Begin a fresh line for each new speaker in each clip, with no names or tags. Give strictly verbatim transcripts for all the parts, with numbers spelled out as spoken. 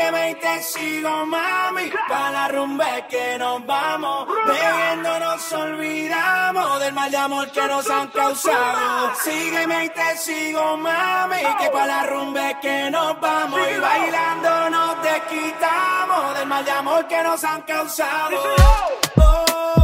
Sígueme y te sigo, mami. Pa' la rumba es que nos vamos. Bebiendo nos olvidamos del mal de amor que nos han causado. Sígueme y te sigo, mami. Que pa' la rumba es que nos vamos. Y bailando nos desquitamos del mal de amor que nos han causado. Oh.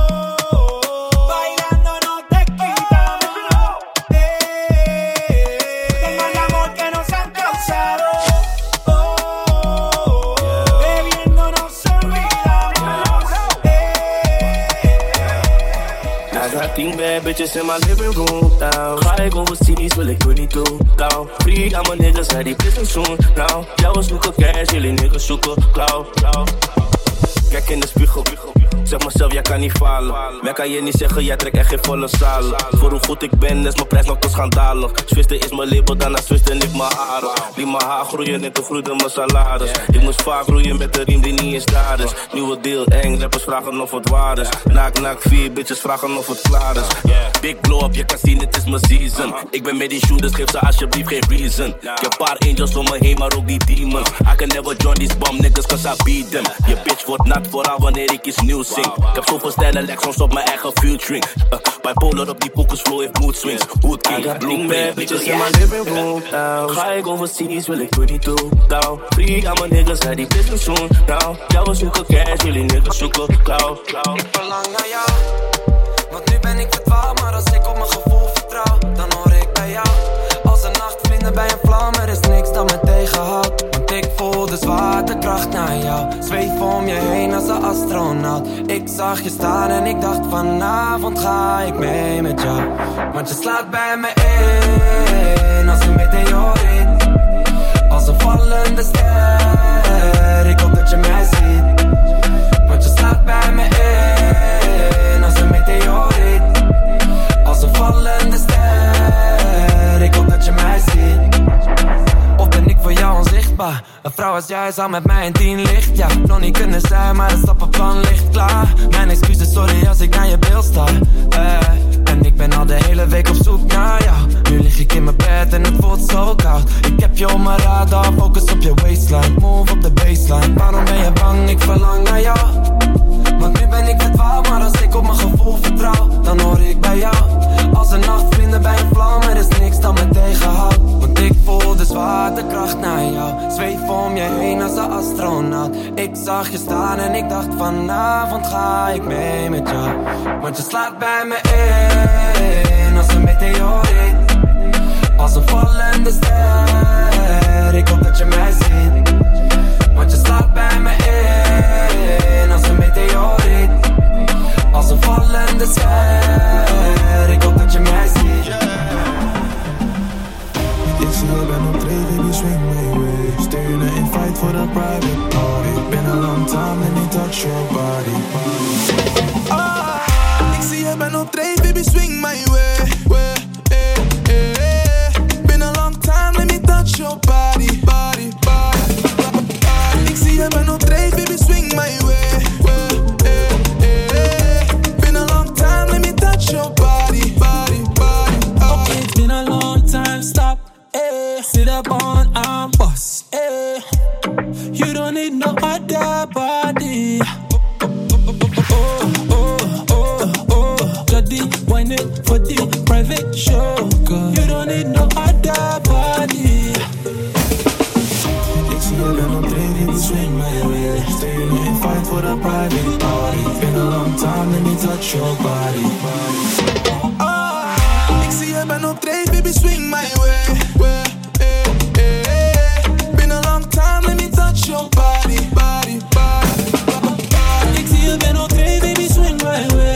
Tien bad bitches in my living room now. Ga ik overseas, wil ik twenty-two down. Free aan mijn niggas, hij die business soon now. Jou zoeken cash, jullie niggas zoeken cloud, cloud. Kijk in de spiegel, zeg mezelf, jij kan niet falen. Mij kan je niet zeggen, jij trekt echt geen volle zalen. Voor hoe goed ik ben, is mijn prijs nog te schandalig. Zwisten is mijn label, daarna zwisten ik mijn haren. Liet mijn haar groeien en toen groeide mijn salaris. Ik moest vaak groeien met de riem die niet eens daar is. Nieuwe deal, eng, rappers vragen of het waar is. Naak, naak, vier bitches vragen of het klaar is. Big blow up, je kan zien, het is mijn season. Ik ben met die shooters, geef ze alsjeblieft geen reason. Ik heb paar angels om me heen, maar ook die demons. I can never join these bum niggas, cause I beat them. Je bitch wordt nat vooral wanneer ik iets nieuws zing. Ik heb zoveel stijlen, leg soms op mijn eigen filtering. Uh, bipolar op die pokus flow heeft mood swings. Hood king, blue bad bitches in my living room now. Ga ik overseas, wil ik twenty-two down. Free aan mijn niggas, hij die business soon now. Jou zoeken cash, jullie niggas zoeken cloud, cloud.
Ik verlang naar jou, want nu ben ik verdwaald. Maar als ik op mijn gevoel vertrouw, dan hoor ik bij jou. Als een nachtvlinder bij een vlam, er is niks dat me tegenhoudt. Want ik voel de zwaartekracht naar jou. Zweef om je heen als een astronaut. Ik zag je staan en ik dacht vanavond ga ik mee met jou. Want je slaat bij me in als een meteoriet. Als een vallende ster, ik hoop dat je mij ziet. Want je slaat bij me in als een meteoriet. Als een vallende ster, ik hoop dat je mij ziet. Of ben ik voor jou onzichtbaar? Een vrouw als jij zou met mij in tien licht. Ja, nog niet kunnen zijn, maar het stappenplan ligt klaar. Mijn excuses, sorry als ik naar je beeld sta. eh, En ik ben al de hele week op zoek naar jou. Nu lig ik in mijn bed en het voelt zo koud. Ik heb je op mijn radar, focus op je waistline. Move op de baseline, waarom ben je bang? Ik verlang naar jou. Want nu ben ik verdwaald, maar als ik op mijn gevoel vertrouw, dan hoor ik bij jou. Als een nachtvlinder bij een vlam, er is niks dat me tegenhoudt. Want ik voel de zwaartekracht naar jou. Zweef om je heen als een astronaut. Ik zag je staan en ik dacht vanavond ga ik mee met jou. Want je slaat bij me in als een meteoriet. Als een vallende ster, ik hoop dat je mij ziet. Want je slaat bij me in als een meteoriet. Als een vallende ster, ik hoop dat je mij ziet. Yeah.
Ik zie je bent op tree, baby, swing my way. Steunen in fight for the private party. Been a long time, let me touch your body. Ah, ik zie je bent op tree, baby, swing my way. way eh, eh, eh. Been a long time, let me touch your body, body, body, body. Ik zie je bent op tree, baby, swing my way. way eh, eh, eh. Been a long time, let me touch your body, body, body. Oh.
Okay, it's been a long time, stop. Eh, sit up on I'm boss. Eh, you don't need no other body. Oh, oh, oh, oh. Jody, wine it for the private show. Girl. You don't need no other body.
Ik zie je bent op drie, die swing my way. Staying in fight for the private party. Been a long time, let me touch your body. Ah, ik zie je bent op drie, baby, swing my way. way eh, eh, eh. Been a long time, let me touch your body, body, body, body.
Ik zie je bent op drie, baby, swing my way.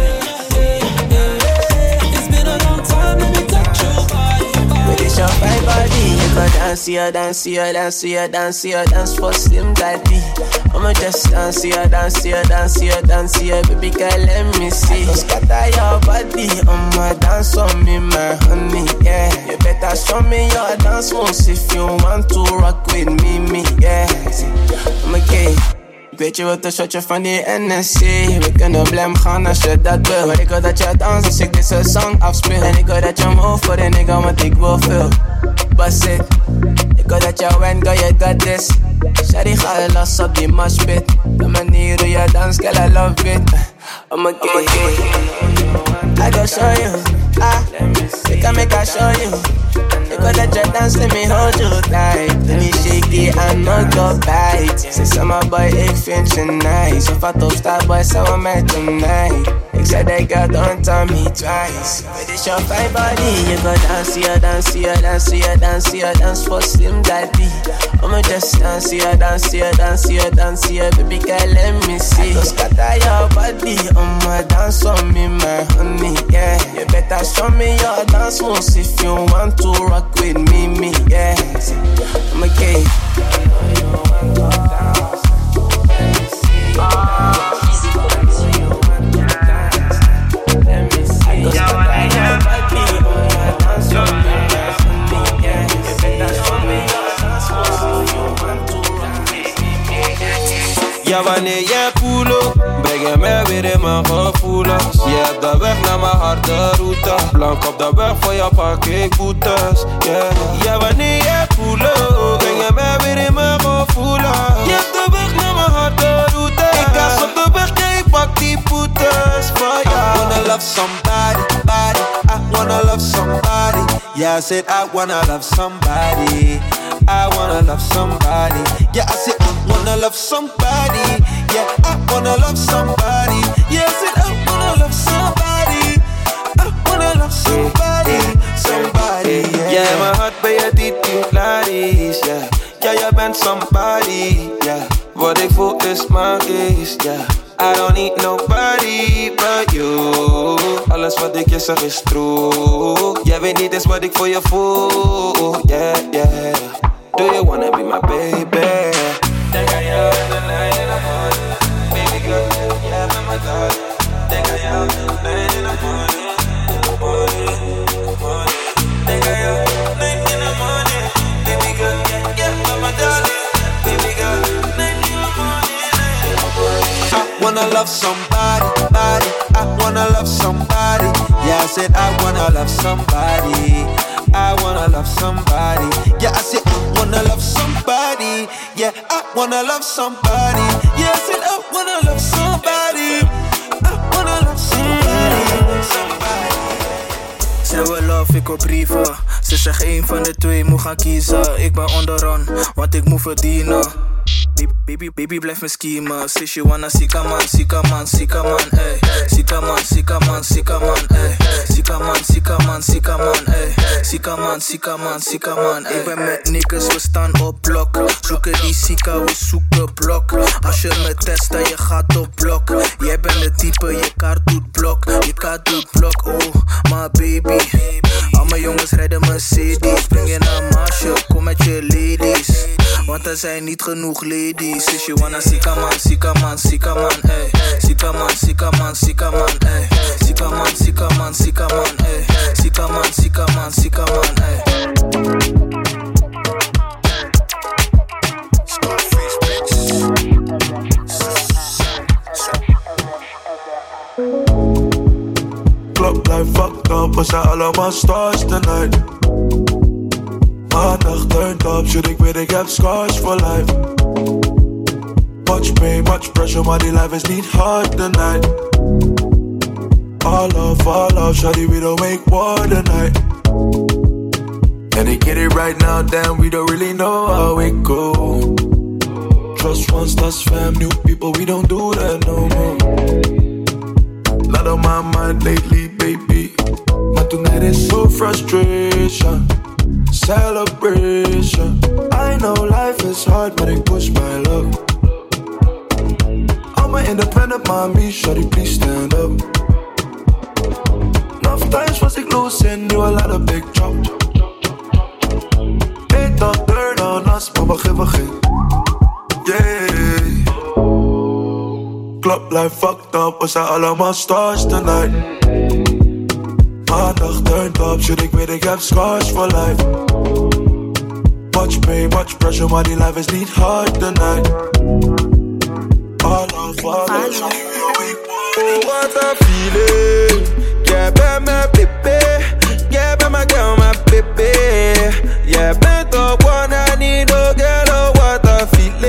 It's been a long time, let me touch your body.
With this your fine body, you can dance, you dance, you dance, you dance, you dance for Slim Daddy. I'ma just dance, you dance, you dance, you dance, you baby girl, let me see. Just scatter your body, I'ma dance on me, my honey, yeah. You better show me your dance moves if you want to rock with me, me, yeah. I'ma get. Ik weet je wat een shotje van die N S C. We kunnen blem gaan als je dat wil. Maar ik wil dat je danst als ik deze song afspeel. En ik wil dat je move voor de nigga, want ik wil veel. Bust it. Ik wil dat je went, girl, you got this. Shawty ga los op die moshpit. De manier hoe je dans, girl, I love it. I'm a gay, I go show you. Ah, we can make I show you. You go let your dance, let me hold you tight. Let me shake it and not go bite. Say summer boy, ik vind je nice. Of wat op star boy, samen met tonight. Ik zei dat girl, don't tell me twice. But it's your fine body. You go dance, you dance, you dance, you dance, you dance for Slim Daddy. I'ma just dance, you dance, you dance, you dance, you baby girl, let me see. I go scatter your body, I'ma dance on me, my honey, yeah. You better show me your dance moves if you want to rock with me, me, yeah. I'm a gay.
Ja, wanneer jij voelt, breng je mij weer in mijn gevoelens. Je hebt de weg naar mijn harde route. Blank op de weg voor je pak ik boetes. Yeah. Ja, wanneer jij voelt, breng je mij weer in mijn gevoelens. Je hebt de weg naar mijn harde route. Ik gas op de weg, jij pak die boetes. I wanna love somebody, body. I wanna love somebody. Yeah, I said I wanna love somebody. I wanna love somebody. Yeah, I said I wanna love somebody. Yeah, I wanna love somebody. Yeah, I said I wanna love somebody. I wanna love somebody. Somebody. Yeah, yeah, mijn hart ben je diep in Clarice. Yeah, ja, jij bent somebody. Yeah, wat ik voel is magisch. Yeah, I don't need nobody but you. Alles wat ik je zeg is true. Jij weet niet eens wat ik voor je voel. Yeah, yeah. Do you wanna be my baby? Denk aan jou in de lijn in de morning. Baby girl, jij bent mijn darling. Denk aan jou in de lijn in de morning. Denk aan jou late in the morning. Baby girl, jij bent mijn darling. Baby girl, late in the morning. I wanna love somebody, body. I wanna love somebody. Yeah, I said I wanna love somebody. I wanna love somebody. Yeah, I said I wanna love somebody. Yeah, I wanna love somebody. Yeah, I said I wanna love somebody. I wanna love somebody. Somebody.
Ze wil love, ik op brieven. Ze zegt één van de twee moet gaan kiezen. Ik ben onderaan, want ik moet verdienen. Baby, baby, blijf me schiemen. Say she wanna sika man, sika man, sika man, ey. Sika man, sika man, sika man, ey. Sika man, sika man, sika man, ey. Sika man, sika man, sika man, ey. Ik ben met niggas, we staan op blok. Zoeken die sika, we zoeken blok. Als je me test, dan je gaat op blok. Jij bent de type, je kaart doet blok. Je kaart doet blok, oh, my baby. Al mijn jongens rijden Mercedes. Spring je naar Maasje, kom met je ladies. Want er zijn niet genoeg ladies. If you wanna sika man, sika man, sika man, ey. Sika man, sika man, sika man, ey. Sika man, sika man, sika man, ey. Sika man, sika man, sika man, ey.
Club life fucked up, we zijn allemaal stars tonight. Maandag turned up, shit ik weet ik heb scars for life. Much pain, much pressure, maar die life is niet hard tonight. All love, all love, shawty, we don't make war tonight. And they get it right now, damn, we don't really know how it go. Trust once, that's fam, new people, we don't do that no more. Lot on my mind lately, baby. Maar tonight is so frustration, celebration. I know life is hard, but I push my luck. I'm an independent mommy, shawty, please stand up. Enough times was ik losing, knew a lot of big drop. They thought turn on us, maar we geven geen. Yeah. Club life fucked up, we zijn allemaal stars tonight. Maandag turned up, shit ik weet ik heb scars for life. Much pain, much pressure, maar die life is niet hard tonight. All love, all love,
oh, what a feeling. Jij bent mijn baby. Jij bent mijn girl, mijn baby. Jij bent op one, I need no girl, oh, what a feeling.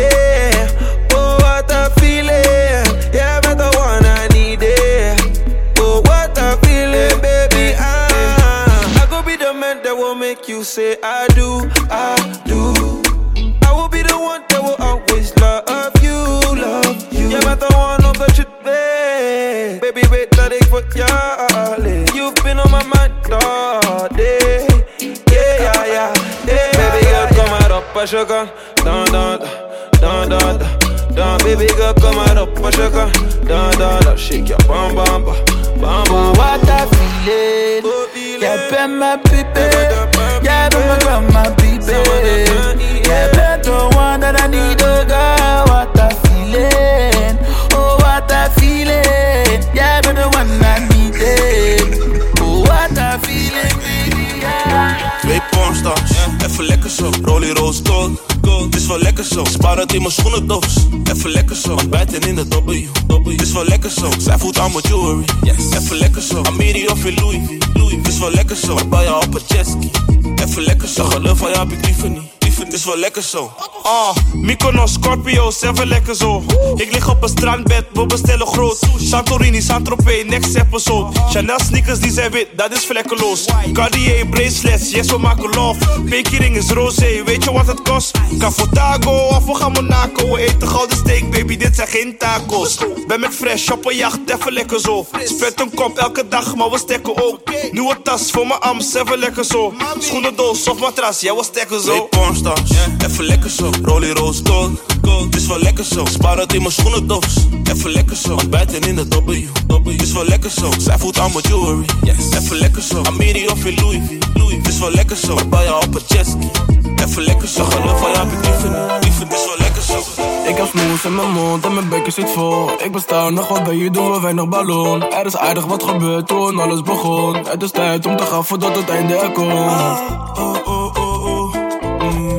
you've been on my mind all day. Yeah, yeah, yeah, yeah. Baby girl, kom maar op als je kan. Dan, dan, dan, dan, dan. Dan, baby girl, kom maar op als je kan. Dan, dan, dan. Shake your bam, bam, bam, bam, bam.
What I feeling? Jij bent mijn pipi. Jij bent mijn grandma pipi. Jij bent the one that I need, oh girl. What I feeling? Oh, what I feeling? Jij bent the one I need, oh, what I feeling, baby, yeah.
Twee pornstars, even lekker zo. Rollie roos gold, gold, het is wel lekker zo. Spaar het in mijn schoenendoos, even lekker zo. Ontbijten in de W, W, het is wel lekker zo. Zij voelt aan mijn jewelry, yes, even lekker zo. Amiri of in Louis V, Louis, het is wel lekker zo. Maar bij jou op een jetski, even lekker zo. Geloof van jou heb ik liever niet. Het is wel lekker zo. Ah, uh, Mykonos, Scorpio's, even lekker zo. Ik lig op een strandbed, we bestellen groot. Santorini, Saint-Tropez, next episode. Chanel sneakers, die zijn wit, dat is vlekkeloos. Cartier, bracelets, yes we maken love. Pinky ring is roze, weet je wat het kost? Cafotago, of we gaan Monaco. We eten gouden steak, baby, dit zijn geen tacos. Ben met fresh, op een jacht, even lekker zo. Spet een kop elke dag, maar we stekken ook. Nieuwe tas voor mijn ams, even lekker zo. Schoenendoos of matras, jij ja, we stekken zo. Yeah. Even lekker zo, Rollie roos gold, gold, het is wel lekker zo. Spaar het in mijn schoenendoos, even lekker zo. Ontbijten in de W, W, het is wel lekker zo. Zij voelt aan mijn jewelry, yes, even lekker zo. Amiri of in Louis V, Louis, het is wel lekker zo. Maar bij jou op een jetski, even lekker zo. Geloof van jou heb ik liever niet, liever, het is wel lekker zo.
Ik heb smoes in mijn mond en mijn bekken zit vol. Ik besta nog wat bij je, doen we weinig ballon. Er is aardig wat gebeurd toen alles begon. Het is tijd om te gaan voordat het einde er komt. Oh, oh, oh, oh, oh. Mm.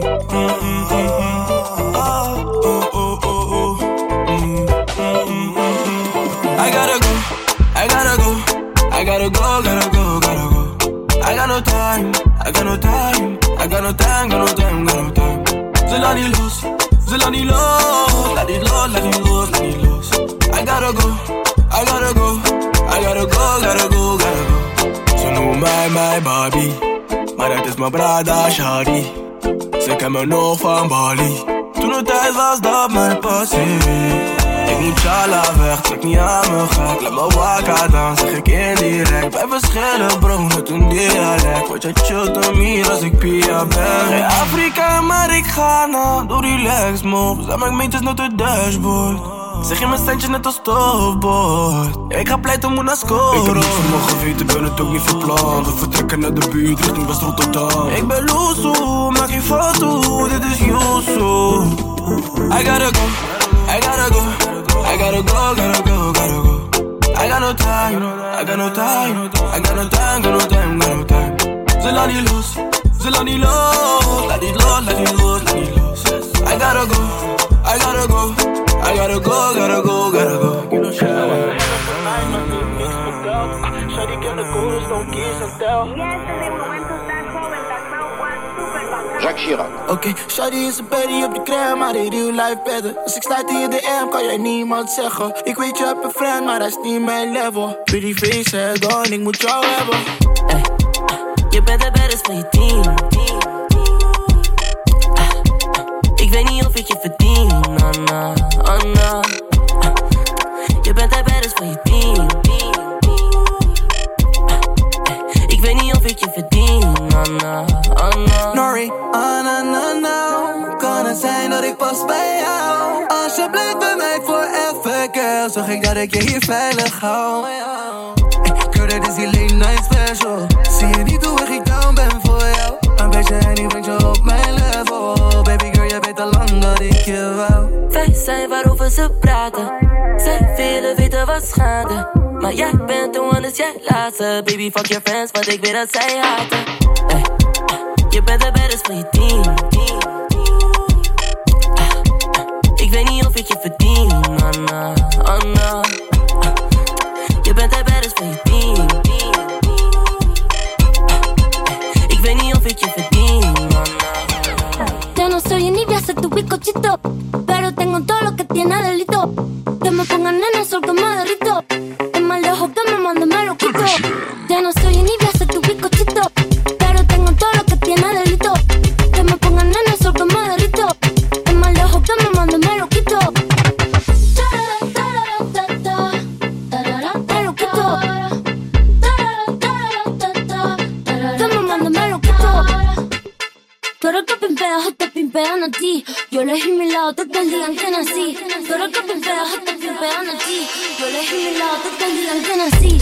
I gotta go, I gotta go, I gotta go, gotta go, gotta go. I got no time, I got no time, I got no time, got no time, got no time. Ze laat niet los, ze laat niet los, laat niet los, laat niet los, laat niet los. I gotta go, I gotta go, I gotta go, gotta go, gotta go. Ze noemen mij mijn Barbie, maar dat is mijn brada Shadi. Ze ken me nog van Bali. Toen het tijd was dat mijn passie. Ik moet Chala weg, trek niet aan me gek. Laat me wakker dan, zeg ik indirect. Bij verschillen bro, net een dialect. Word je chillt om hier als ik Pia ben. Geen Afrika, maar ik ga nou. Doe relax moves, laat mijn meentjes naar de dashboard. Zeg je mijn standje net als stofbord. Ik ga pleiten, moet naar scoren. Ik heb niks van mijn geweten, ben het ook niet verplant. We vertrekken naar de buurt, richting West Rotterdam. Ik ben loesoe, maak je foto, dit is Yusu. I gotta go, I gotta go, I gotta go, gotta go, gotta go. I got no time, I got no time, I got no time, got no time, got no time. Ze laat niet los, ze laat niet los, laat niet los, laat niet los, laat niet los. I gotta go, I gotta go, I gotta go, gotta go, gotta go. You know shit. Shawty, ik heb de coolest, don't kiss and tell.
Jacques Chirac.
Oké, okay, shawty is een baddie op de gram, maar in real life better. Als ik sluit in je D M, kan jij niemand zeggen. Ik weet je hebt een friend, maar dat is niet mijn level. Pretty face, head on, ik moet jou hebben. Hey, je bent de baddest van je team. Ik weet niet of ik je verdien, oh no, oh no. Je bent de baddest van je team. Ik weet niet of ik je verdien, oh no, oh no. Nori, oh no, no, no. Kan het zijn dat ik pas bij jou? Als je blijft bij mij forever, girl, zorg ik dat ik je hier veilig hou. Girl, dat is die late night special. Zie je niet hoe erg ik down ben voor jou? Een beetje hennie brengt je op mijn level. Baby girl, jij weet al lang dat ik je wou. Wij zijn waarover ze praten. Zij willen weten wat schade. Maar jij bent de one, dus jij laat ze. Baby, fuck your friends, want ik weet dat zij haten. Hey, je bent de baddest van je team. Ik weet niet of ik je verdien, oh no, oh no. Je bent de baddest van je team. Ik weet niet of ik je verdien, oh no.
Yo no soy ni voy a ser tu bizcochito, pero tengo todo lo que tiene delito. Que me pongan en el sol que me derrito. Es más lejos que me mande me lo quito. Ya no soy ni voy a ser tu bizcochito, pero tengo todo lo que tiene delito. Que me pongan en el sol que me derrito. Es más lejos que me mande me lo quito. Me lo quito. elegí mi lado, todos el día en que nací. Pero que bien fea, hasta que pegan a ti. Yo elegí mi lado, todos el día en que nací.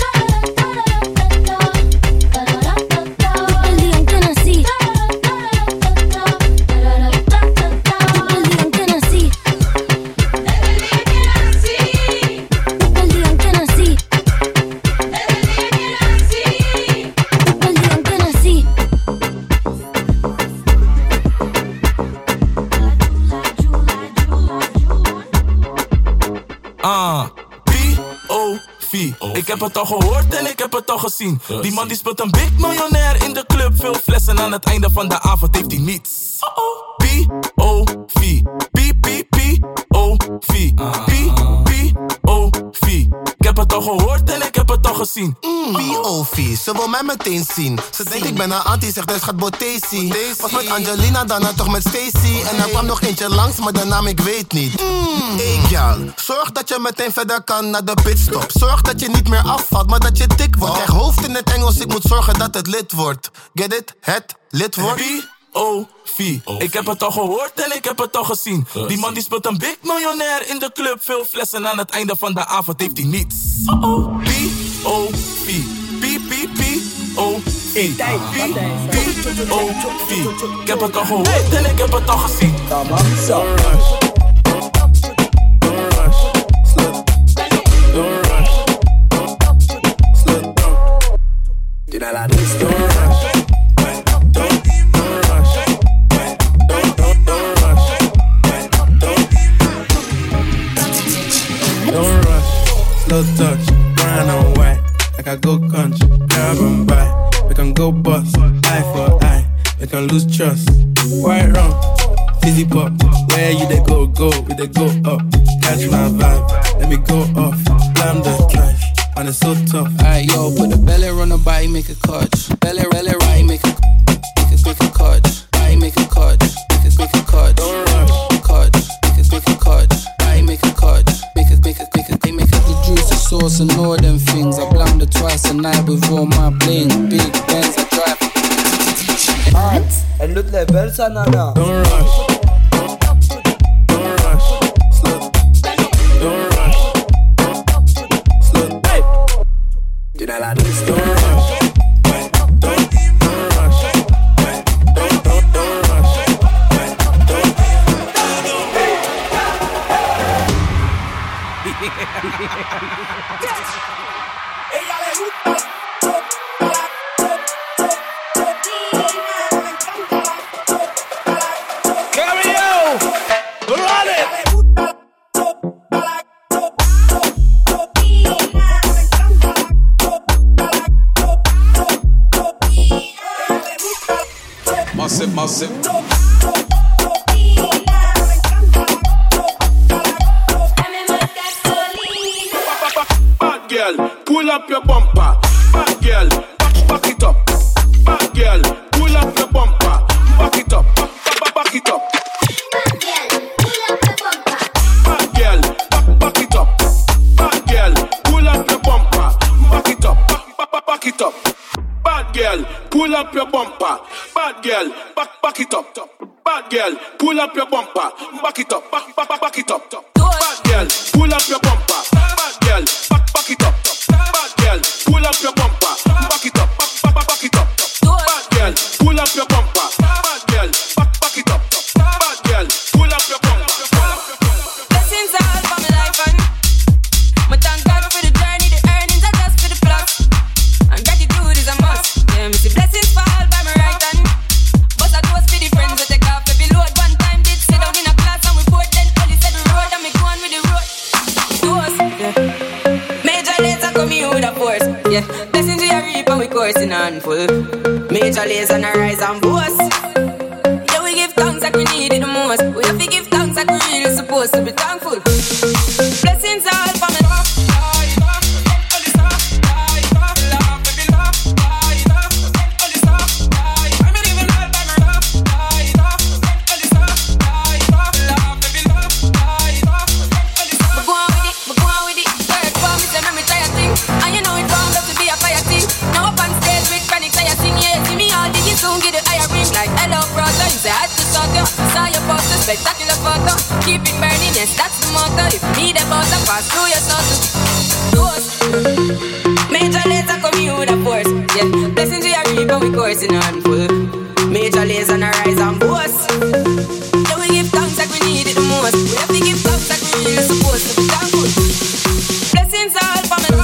Ik heb het al gehoord en ik heb het al gezien. Die man die speelt een big miljonair in de club. Veel flessen aan het einde van de avond heeft hij niets. P O V P P P O V P P O V. Ik heb het al gehoord en ik heb het al gezien.
P O V, ze wil mij meteen zien. Ze denkt ik ben een anti, zegt dus gaat Botesi. Was met Angelina, daarna toch met Stacy. En er kwam nog eentje langs, maar de naam ik weet niet. Hey gal, zorg dat je meteen verder kan naar de pitstop. Zorg dat je niet meer afvalt, maar dat je dik wordt. Krijg hoofd in het Engels, ik moet zorgen dat het lid wordt. Get it? Het lid wordt.
P O V. Ik heb het al gehoord en ik heb het al gezien. Die man die speelt een big miljonair in de club. Veel flessen aan het einde van de avond heeft hij niets. P O V P P P O V P P O V. Ik heb het al gehoord en ik heb het al gezien.
Don't rush, don't rush, slow, don't rush, slow down. Do not like this, don't rush. Don't rush, slow touch, brown and white. Like I go country, grab and buy. We can go bust, eye for eye. We can lose trust. White rum, fizzy pop. Where you they go, go, we they go up. Catch my vibe, let me go off. Slam the drive, and it's so tough.
Alright, yo, put the belly on the body, make a catch. Belly, belly, right, make a, make a, make a catch. Body, make a catch, make a, make a catch.
Don't rush,
catch, make a, make a catch. Body, make a catch. Make it, make it, make it, make it the juicy sauce and all them things. I blammed it twice a night with all my bling. Big Benz, I drive.
Art, and look like Belsa Nana. Don't rush, don't rush, slow, don't rush, slow, hey. Do not like this, don't rush.
Ella le gusta.
Carry on, run it.
Massive, massive.
Pull up your bumper, bad girl, back, back it up. Bad girl, pull up your bumper, back it up, back, back, back it up. Bad girl, back, back it up. Bad girl, pull up your bumper, back it up, back, back, back it up. Bad girl, pull up your bumper. Bad girl, back, back it up. Bad girl, pull up your bumper, back it up, back, back, back it up. Bad girl, pull up your bumper. Bad girl, back, back it up. Bad girl, pull up your bumper, back it up, back, back, back it up. Bad girl, pull up your bumper. Bad girl, back, back it up. Bad girl, pull up your bumper.
Blessings all for my life and my thank God for the journey, the earnings are just for the plus. And gratitude is a must. Yeah, me see blessings fall by my right hand. But I do for the friends that take off every load. One time did sit down in a class and we both then only said the road and me go on with the road. Those, yeah. Major laser coming with a force, yeah. Blessings we are reap and we coursing on full. Major laser and a rise and boast. Yeah, we give thanks like we need it the most. We have to give thanks like we really supposed to be thankful. Blessings all for me. Soon get the higher ring like hello brother. You say I had to talk you. Saw your poster, spectacular fuck. photo. Keep it burning, yes, that's the motto. If you need a butter, pass through your soul. Those major laser coming with a force. Yeah, blessings we are reaping, we coursing on full. Major laser on a rise and boast. Yeah, we give thanks like we need it the most. We have to give thanks like we really supposed to be thankful. Blessings all for me.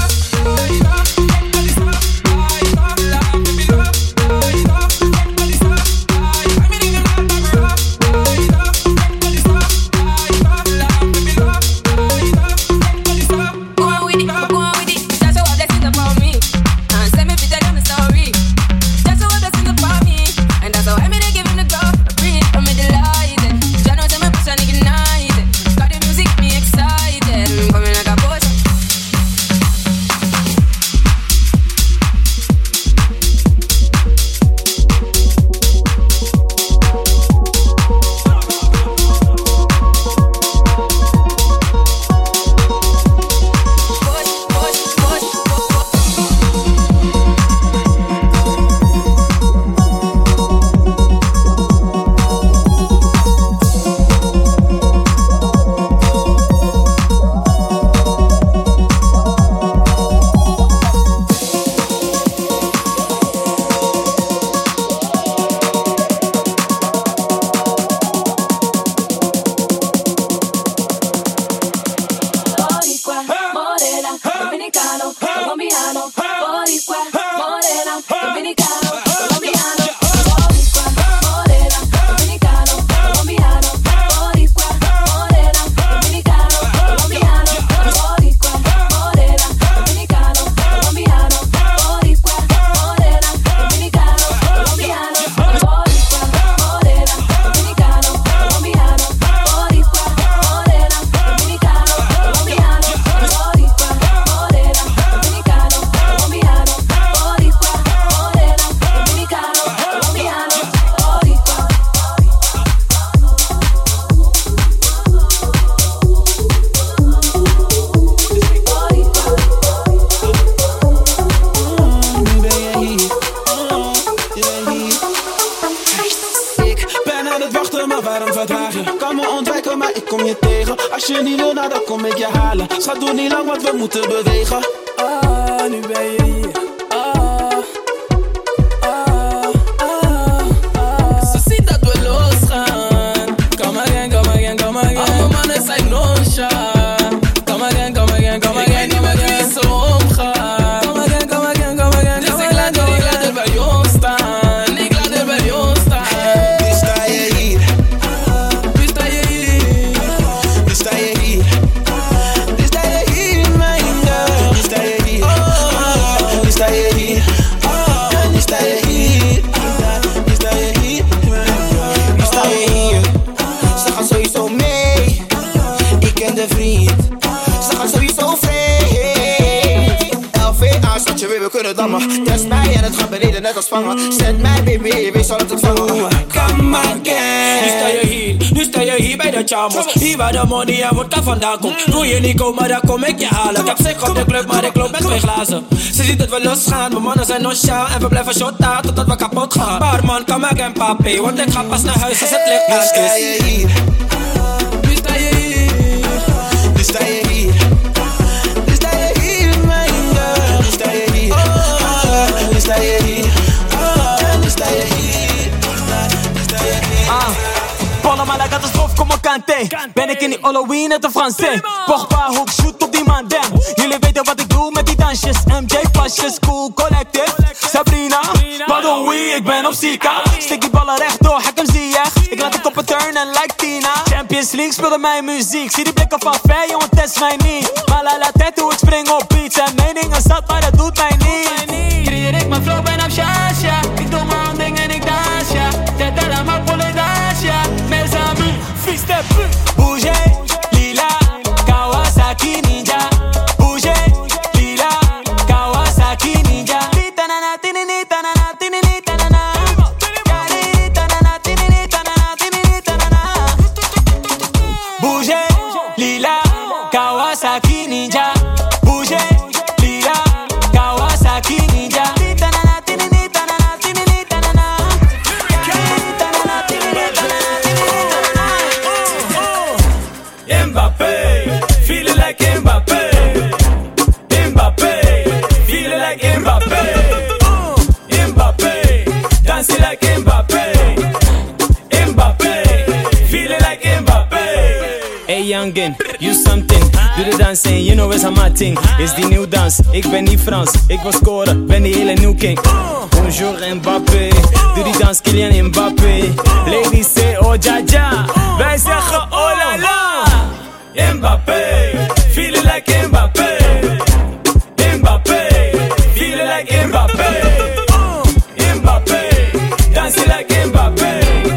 Schat, doe niet lang, want we moeten bewegen. Ah, nu ben je hier. Ah, ah, ah, ah. Ze ziet dat we losgaan. Come again, come again, come again. Alle mannen zijn nonchalant. Come again, come again, come again. Ik weet niet met wie ze omgaan. Come again, come again, come again. Dus ik laat er, ik laat er bij ons staan. Ik laat er bij ons staan. Nu sta je hier. Nu sta je hier. Nu sta je hier. We kunnen dammen. Test mij en het gaat beneden net als vangen. Zet mij baby, wees zal het ontvangen. Come again. Nu sta je hier, nu sta je hier bij de chamos. Hier waar de money en vodka vandaan komt. Wil je niet komen, dan kom ik je halen. Ik heb zich op de club, maar ik loop met twee glazen. Ze ziet dat we losgaan, mijn mannen zijn nonchalant. En we blijven shotten totdat we kapot gaan. Barman, come again papi, want ik ga pas naar huis als het licht aan is. Nu sta je hier. Nu sta je hier. Nu sta je hier. Nu sta je hier, mijn girl. Nu sta je hier. Nu sta je hier, nu sta je hier, nu sta je hier. Ah, Panama la catastrofe como Kanté. Ben ik in die Halloween net een Fransé. Pogba, hoek, shoot op die man, damn. Jullie weten wat ik doe met die dansjes. M J-pasjes, cool, collective. Sabrina, pardon, oui, ik ben op Zika. Stik die ballen rechtdoor, hek hem zie je. Ik laat de koppen turnen like Tina. Champions League speelde mijn muziek. Zie die blikken van ver, jongen, test mij niet. Maar la la tête hoe ik spring op beats. En meningen zat, maar dat doet mij niet. Creëer ik mijn flow, ben op Shasha. Ik doe mijn dingen en ik dans, ja. Tête à la main pour les dans, ja. Mes amis, fils de pute. Bouger, lila, Kawasaki ninja. Bouger, lila, Kawasaki ninja. Titanana, tinini, tanana, tinini, tanana. Kali, tanana, tinini, tanana, tinini, tanana. Bouger, lila, Kawasaki ninja. Bouger, lila, Kawasaki ninja. Titanana, tinini, tanana, tinini, tanana. Kali, tanana, tinini, tanana, tinini, tanana.
Mbappé, feeling like Mbappé. Mbappé, feeling like Mbappé. Mbappé, dancing like Mbappé. Mbappé, feeling like Mbappé. Hey youngin, you something. Doe de dans en you know is a my thing. Is die nieuw dans, ik ben niet Frans. Ik wil scoren, ben die hele new king. Bonjour Mbappé, doe die dans Kylian Mbappé. Ladies say oh ja ja, wij zeggen oh la la. Mbappé, feeling like Mbappé. Mbappé, feeling like Mbappé. Mbappé, dancing like Mbappé.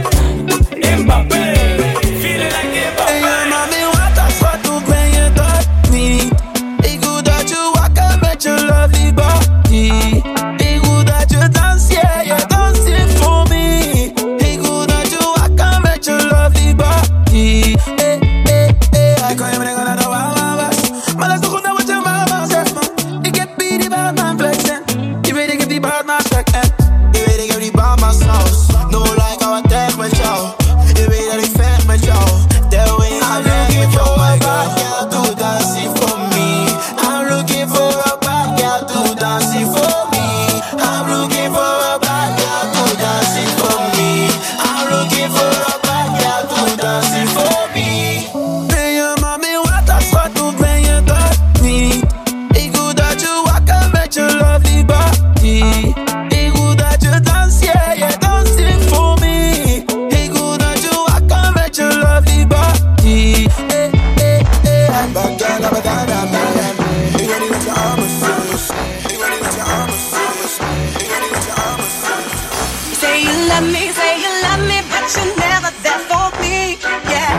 Mbappé, feeling like Mbappé.
Hey, ja, mami, wat als wat, hoe ben je dat niet? Ik wil dat je wakker met je lovely body. Ik wil dat je dans, yeah, je danst hier voor me. Ik wil dat je wakker met je lovely body. Hey, hey, hey, hij kan je brengen naar de wawa was. Maar dat is toch goed naar wat je mama zegt, man. Ik heb hier die baard mijn flex en je weet ik heb die baard mijn stek en je weet ik heb die baard mijn saus. No like how I tag met jou. Je weet dat ik vecht met jou. That way I'm looking for a bad girl to dance for me. I'm looking for a bad girl to dance for me. I'm looking for a bad girl to dance for me. I'm looking for a bad girl to dance for me. Ben je mami, wat als wat, hoe ben je dat niet? Ik wil dat je wakker met je lovely body. Ik wil dat je dans, yeah, je danst hier voor me. Ik wil dat je wakker met je lovely body. Hey, hey, hey. Bad girl, I'm a dada man. Ik wil niet dat je armen zus. Ik wil niet dat je armen zus. Ik wil niet dat je armen zus.
Say you love me, say you love me, but you're never there for me, yeah.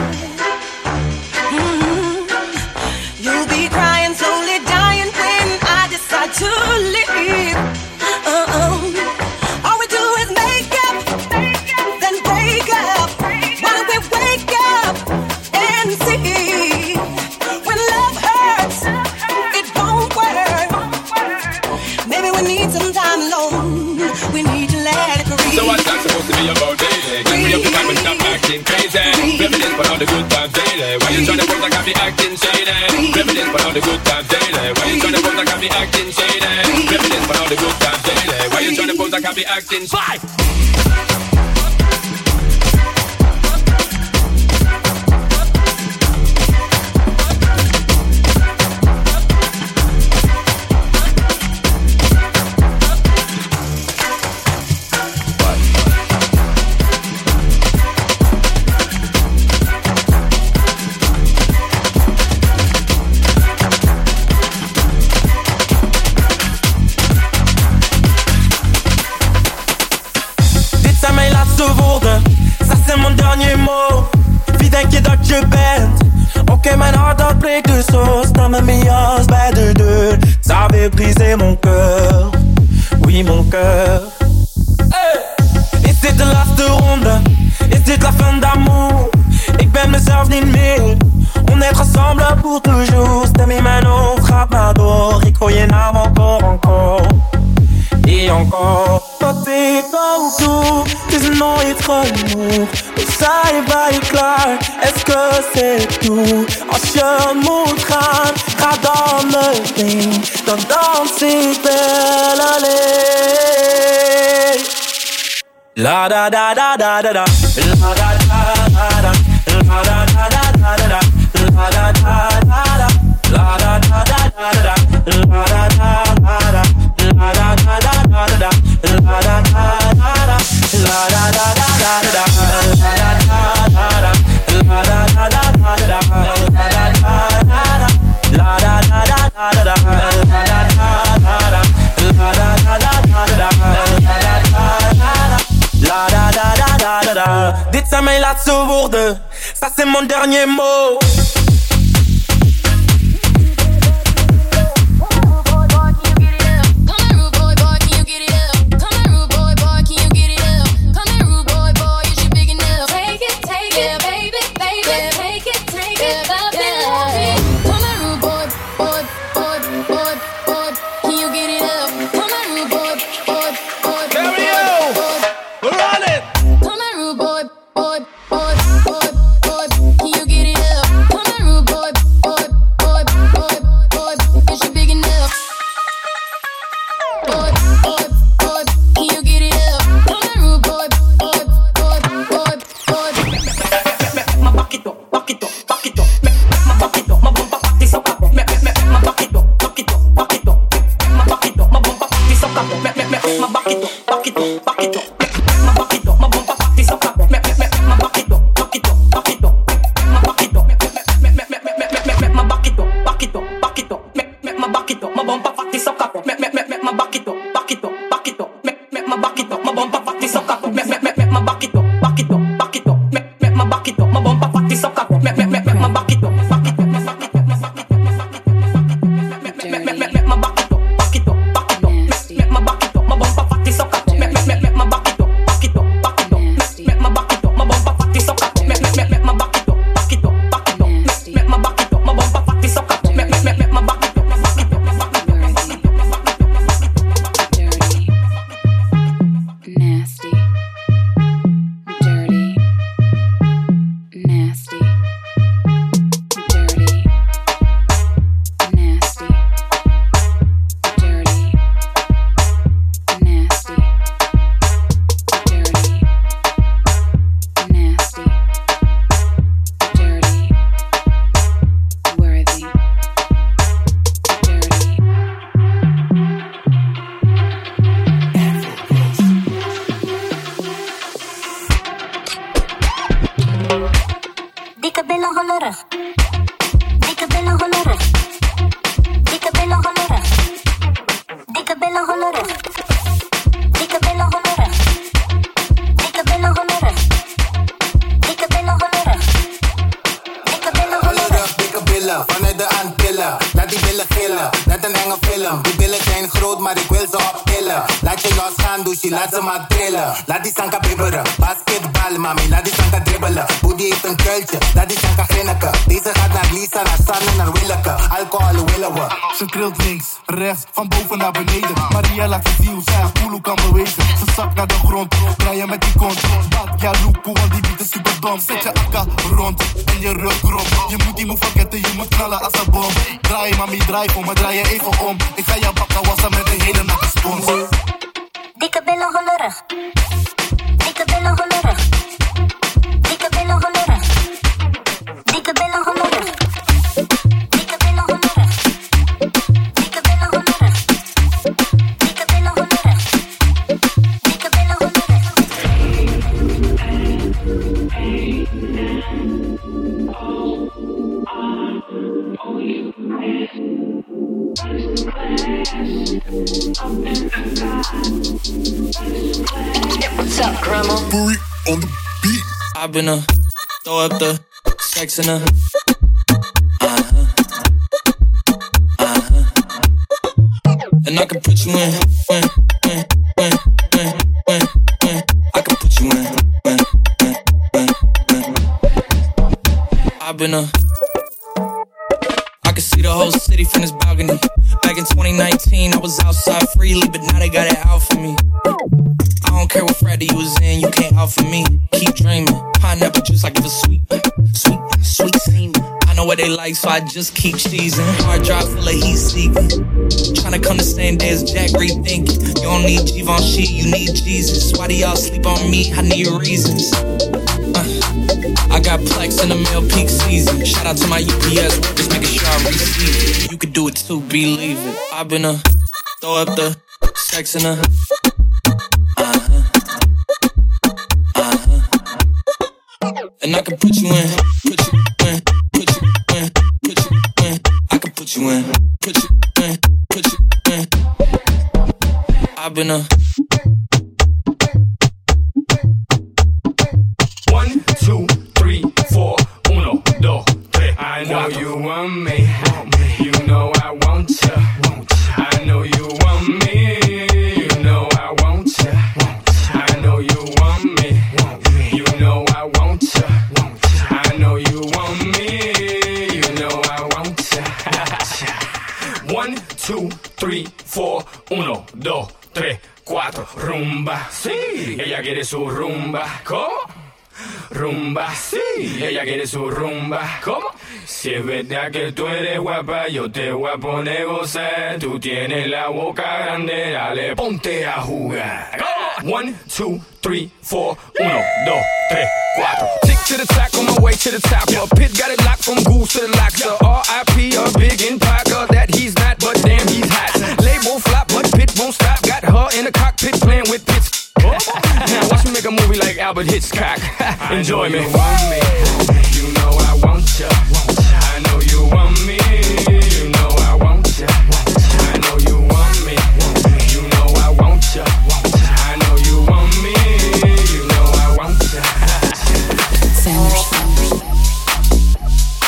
Mm-hmm. You'll be crying, slowly dying when I decide to leave. Uh-oh. All we do is make up, then break up. Why don't we wake up and see? When love hurts, it won't work. Maybe we need some time alone. We need to let it breathe.
So what's that supposed to be about, baby? Get me up the time and stop acting crazy. Reminisce for all the good times daily. Why you tryna pose like I be acting shady? Reminisce for all the good times daily. Why you tryna pose like I be acting shady? Reminisce for all the good times daily. Why you tryna pose like I be acting shady?
Ça c'est mon dernier mot. Wie denk je dat je bent? Oké, okay, mijn hart dat breekt dus zo. Sta met mijn jas bij de deur. Ça veut briser mon cœur. Oui, mon cœur. Hey. Is dit de laatste ronde? Is dit la fin d'amour? Ik ben mezelf niet meer. On est ensemble pour toujours. Stem in mijn hoofd gaat maar door. Ik hoor je naam encore, encore. Et encore. Wat ik ook doe, het is nooit genoeg. We zijn bij klaar, est-ce que c'est tout? Als je moet gaan, ga dan meteen. Dan dans ik wel alleen. La da da da da da da. La da da da da. La da da da da da. La da da da da. La da da da da da. La da da da da. La da da da da da. La da da da da. La da da da da da. La da da da da. La da da da da da. La da da da da. La da da da da da. La da da da da. La da da da da da. La da da da da da. Dit zijn mijn laatste woorden. Ça c'est mon dernier mot.
Come make my back it up, back it up, back it up, back it up. Make make make my back it up, back it up, back it up. Make my back it up, my bumper fatty sucker. Make make make make my back it up, back it up, back it up. Make my back it up, my bumper fatty sucker. Make make make make my back it up, back it up, back it up. Make my back it up, my bumper fatty sucker. Make make make make my back it up, back it up, back it up.
Nasty, dirty, nasty, dirty, nasty, dirty, nasty, dirty, nasty, dirty, worthy, dirty.
Dikke billen hollerig. Dikke billen hollerig. Dikke billen hollerig. Dikke billen hollerig. Dikke billen hollerig. Dikke billen hollerig. Dikke billen hollerig. Dikke billen hollerig.
Dikke billen, vanuit de Antillen. Laat die billen gillen, net een enge film. Die billen zijn groot, maar ik wil ze optillen. Laat je los gaan, douche, laat ze maar trillen. Laat die sanka bibberen, basketbal, mami, laat die sanka dribbelen. Boedie heeft een kuiltje, laat die sanka grinniken. Deze gaat naar Lisa, naar Sanne, naar Willeke. Alcohol willen we.
Ze trilt links, rechts, van boven naar beneden. Maria laat je zien hoe zij haar poelo kan bewegen. Ze zakt naar de grond, draaien met die kont. Bad, ja, loekoe, want die beat is super dom. Zet je akka rond en je rug krom. Je moet die move vergeten, je moet knallen als een bom. Draai, mami, draai voor me, draai je even om. Ik ga jou bakken wassen met een hele natte spons.
Dikke billen hollerig. Dikke billen hollerig. Dikke billen hollerig. Dikke billen hollerig. Dikke billen hollerig. Dikke billen hollerig. Dikke billen hollerig. Dikke billen
What's up, grandma?
Booty on the beat.
I've been a throw up the sex in a uh-huh, uh-huh. And I can put you in, when, when, when, when, when, when. I can put you in, when, when, when, when. I've been a I can see the whole city from this balcony. Back in twenty nineteen, I was outside freely, but now they got it out for me. I don't care what Friday you was in, you can't out for me. Keep dreaming, pineapple juice like it was sweet, sweet, sweet semen. I know what they like, so I just keep cheesing. Hard drive full of heat seeking. Tryna come the same day as Jack rethinking. You don't need Givenchy, you need Jesus. Why do y'all sleep on me? I need reasons. Uh, I got Plex in the mail peak season. Shout out to my U P S workers, making sure I receive it. You could do it too, believe it. I've been a throw up the sex in a uh-huh, uh-huh. And I can put you in, put you in, put you in, put you in. I can put you in, put you in, put you in. I've been a
one, two, three, four, uno, dos, tres. I know you want me, you know I want ya. I know you want me, you know I want ya. I know you want me, you know I want ya. I know you want me, you know I want ya. One, two, three, four, uno, dos, tres, cuatro, rumba. Sí, ella quiere su rumba. ¿Cómo? Rumba, sí, ella quiere su rumba. ¿Cómo? Si es verdad que tú eres guapa, yo te voy a poner gozar. Tú tienes la boca grande, dale, ponte a jugar. ¿Cómo? One, two, three, four, uno, dos, tres, cuatro. Tick to the track on my way to the top. A pit got it locked from goose to the locker. R I P a big in Parker that he's not, but damn he's hot. Label flop, but Pit won't stop. Got her in the cockpit playing with Pitts. Now watch me make a movie like Albert Hitchcock. Enjoy me. You want me, you know I want ya. I know you want me, you know I want ya. I know you want me, you know I want ya. I know you want me, you know I want ya.
Sanders.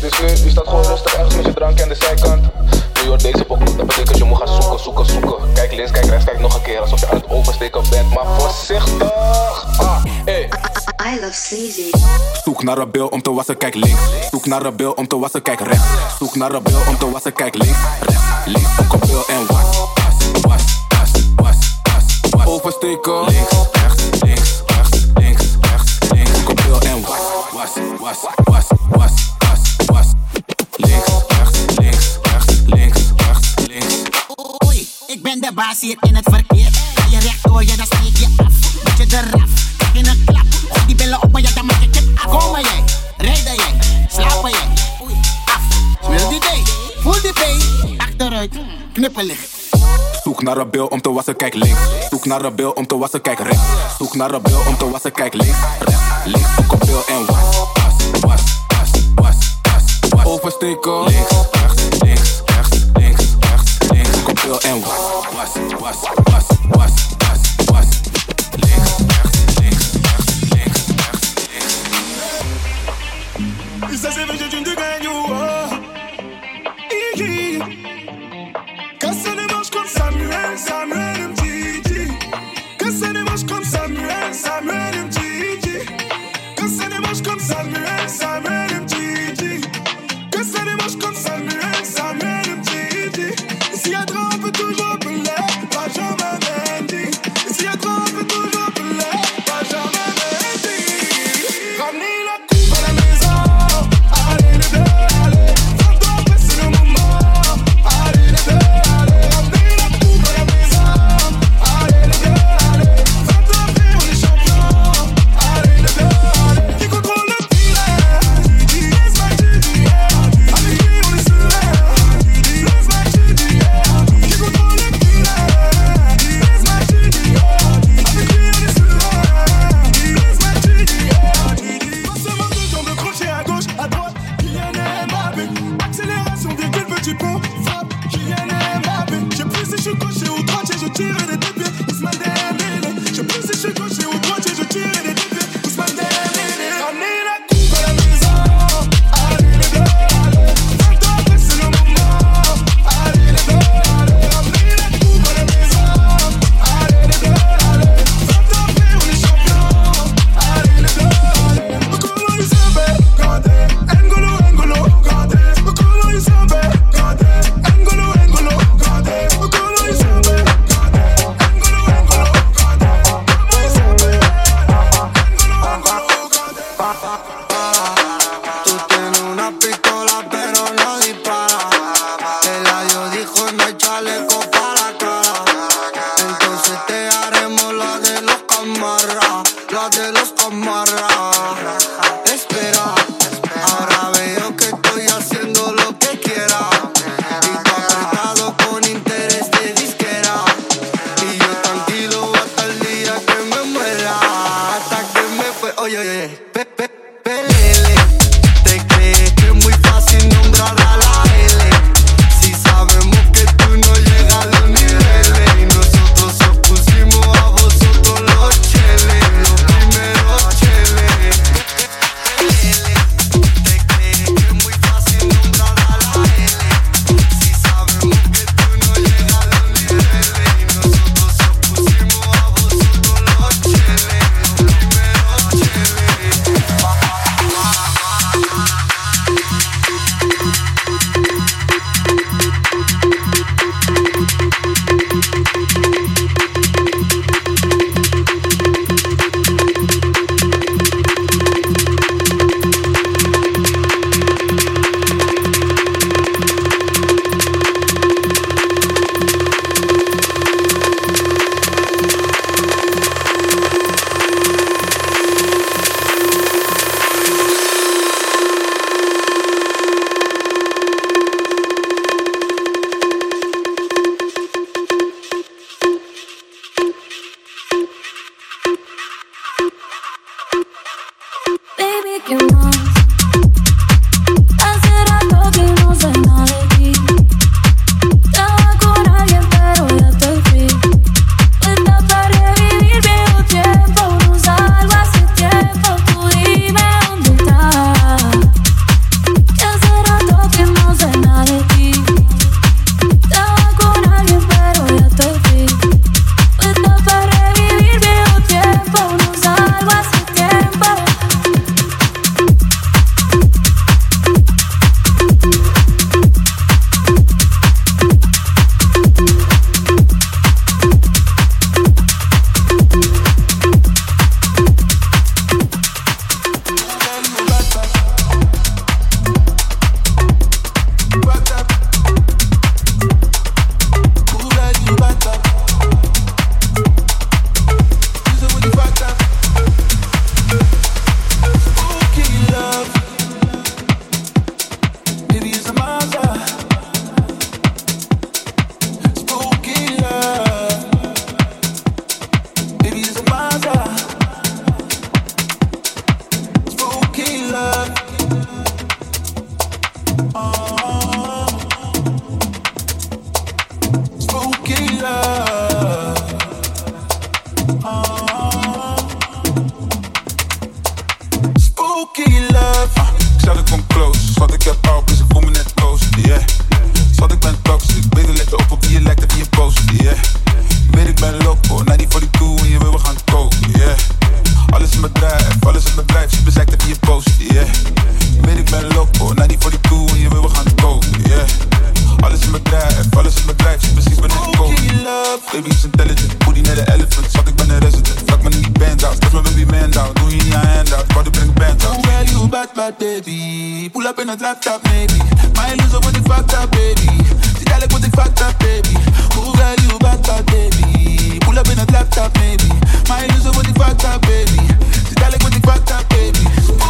het is nu, je staat gewoon rustig ergens met je drank aan de zijkant. Nu je hoort deze pokoe, dat betekent je moet gaan zoeken, zoeken, zoeken. Kijk links, kijk rechts, kijk nog een keer, alsof je aan het oversteken bent, maar voorzichtig. Ah, hey.
I love sleazy.
Zoek naar een bil om te wassen, kijk links. Zoek naar een bil om te wassen, kijk rechts. Zoek naar een bil om te wassen, kijk links, rechts. Links, zoek een bil en was, was, was, was, was, was, was. Oversteken, links, rechts, links, rechts, links, rechts, links. Zoek een bil en was, was, was, was, was, was, was. Links, rechts, links, rechts, links, rechts, links.
Oei, ik ben de baas hier in het verkeer. Ga je rechtdoor, ja dan steek je af. Moet je eraf, krijg je een klap. Gooi die billen op, maar ja dan maak ik het af. Komen jij, rijden jij, slapen jij. Oei, af, smil die day, voel die pay. Achteruit, knippelig.
Zoek naar een bil om te wassen, kijk links. Zoek naar een bil om te wassen, kijk rechts. Zoek naar een bil om te wassen, kijk links, rechts. Links, zoek een bil en was, was, was, was, was, was, was. Oversteken, links, rechts, links, rechts, links, rechts, links. Zoek een bil en was, was, was, was, was, was, was. Links, rechts, links, rechts, links, rechts, links.
Et ça c'est vrai, je te gagne, oh. Quand ça ne marche comme Samuel, Samuel M T G. Quand ça ne marche comme Samuel, Samuel M T G. Quand ça ne marche comme Samuel, Samuel M T G. Quand ça ne marche comme Samuel, Samuel M T G. Et s'il y a trop, on peut toujours appeler Benjamin Mendy. Et s'il y a trop, on peut toujours appeler Benjamin Mendy. Ramenez la coupe à la maison. Allez les deux, allez. Fais-toi passer le moment. Allez les deux.
Spooky love. Spooky love. Ik zat ik kom close, zat ik heb op, dus ik voel me net close, yeah. Zat ik ben toxic, beter let op op wie je lijkt en wie je post, yeah. Weet ik ben loco, naar die forty-two en je wil we gaan koken, yeah. Alles in bedrijf, alles in bedrijf, super zegt en wie je post, yeah. Weet ik ben loco, naar die forty-two en je wil we gaan koken, yeah. Alles in bedrijf, alles in bedrijf, super precies ben ik koken. Baby is intelligent, booty naar de elephant, zat ik ben een resident. Fuck me niet band out, stop me baby man down, doe je niet aan hand out, wou de bring band out. Well you bad bad baby, pull up in a drop top maybe. My loser when ik fucked up baby, zie dadelijk wat ik fucked up baby. Oh well you bad bad baby, pull up in a drop top maybe. My loser when ik fucked up baby, zie dadelijk wat ik fucked up baby.